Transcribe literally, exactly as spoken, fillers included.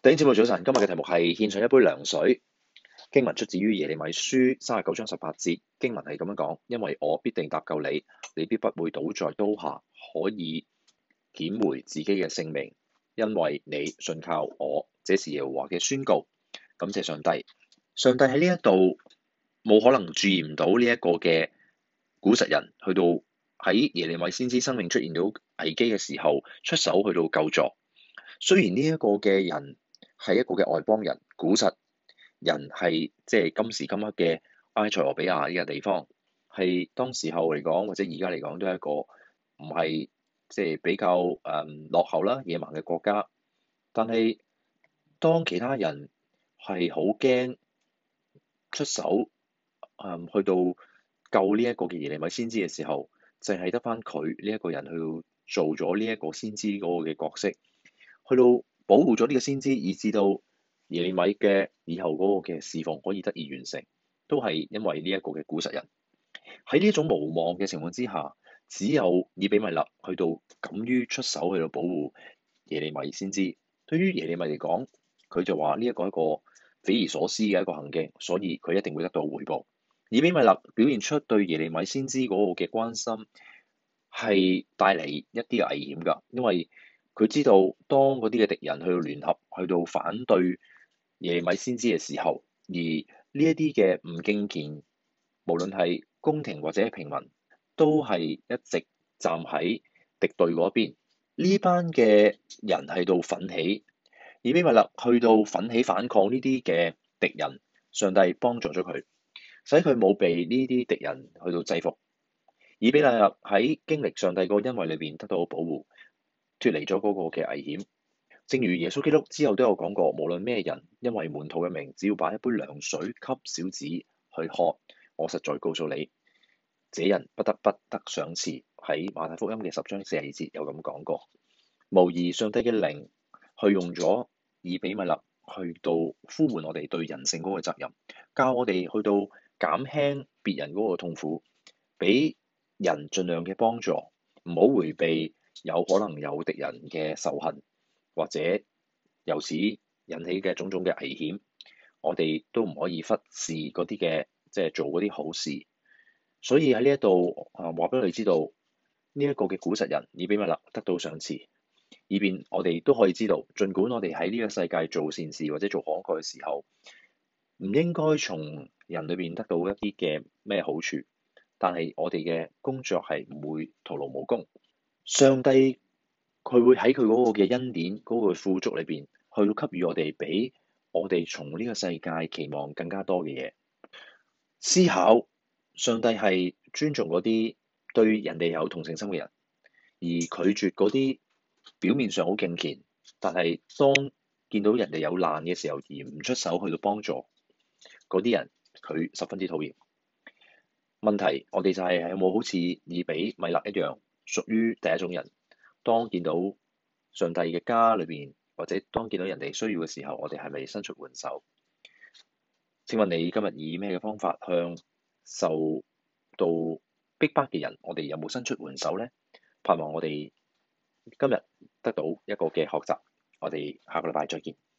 弟兄姊妹早晨，今日嘅題目係獻上一杯涼水。經文出自於耶利米書三十九章十八節，經文係咁樣講：因為我必定搭救你，你必不會倒在刀下，可以撿回自己嘅性命，因為你信靠我。這是耶和華嘅宣告。感謝上帝，上帝喺呢一度冇可能注意唔到呢一個嘅古實人，去到喺耶利米先知生命出現到危機嘅時候，出手去到救助。雖然呢一個嘅人係一個嘅外邦人，古實人係即係今時今刻嘅埃塞俄比亞呢個地方，係當時候嚟講或者而家嚟講都係一個唔係即係比較誒、嗯、落後啦、野蠻嘅國家。但係當其他人係好驚出手誒、嗯、去到救呢一個嘅耶利米先知嘅時候，淨係得返佢呢一個人去到做咗呢一個先知嗰個嘅角色，去到保護咗呢個先知，以至到耶利米嘅以後嗰個嘅侍奉可以得以完成，都係因為呢一個嘅古實人。喺呢一種無望嘅情況之下，只有以比米勒去到敢於出手去到保護耶利米先知。對於耶利米嚟講，佢就話呢一個係一個匪夷所思嘅一個行徑，所以佢一定會得到回報。以比米勒表現出對耶利米先知嗰個嘅關心，係帶嚟一啲嘅危險㗎，因為佢知道當嗰啲嘅敵人去到聯合去到反對耶利米先知嘅時候，而呢一啲嘅唔敬虔，無論係宮廷或者平民，都係一直站喺敵對嗰邊。呢班嘅人喺度奮起，以比米勒去到奮起反抗呢啲嘅敵人，上帝幫助咗佢，使佢冇被呢啲敵人去到制服。以比米勒喺經歷上帝個恩惠裏邊得到保護，脫離咗嗰個嘅危險。正如耶穌基督之後都有講過，無論咩人，因為門徒嘅名，只要把一杯涼水給小子去喝，我實在告訴你，這人不得不得賞賜。喺馬太福音嘅十章四十二節有咁講過。無疑上帝嘅靈去用咗以比米勒去到呼喚我哋對人性嗰個責任，教我哋去到減輕別人嗰個痛苦，俾人盡量嘅幫助，唔好迴避有可能有敵人嘅仇恨，或者由此引起嘅種種嘅危險，我哋都唔可以忽視嗰啲嘅即係做嗰啲好事。所以喺呢一度啊，話俾我哋知道呢一個嘅古實人以比米勒得到賞賜，以便我哋都可以知道，儘管我哋喺呢個世界做善事或者做慷慨嘅時候，唔應該從人裏邊得到一啲嘅咩好處，但係我哋嘅工作係唔會徒勞無功。上帝佢會喺佢嗰個嘅恩典嗰個富足裏邊，去到給予我哋比我哋從呢個世界期望更加多嘅嘢。思考上帝係尊重嗰啲對人哋有同情心嘅人，而拒絕嗰啲表面上好敬虔，但係當見到人哋有難嘅時候而唔出手去到幫助嗰啲人，佢十分之討厭。問題我哋就係有冇好似以比米勒一樣，屬於第一種人？當見到上帝嘅家裏邊，或者當見到人哋需要嘅時候，我哋係咪伸出援手？請問你今日以咩嘅方法向受到逼迫嘅人，我哋有冇伸出援手呢？盼望我哋今日得到一個嘅學習，我哋下個禮拜再見。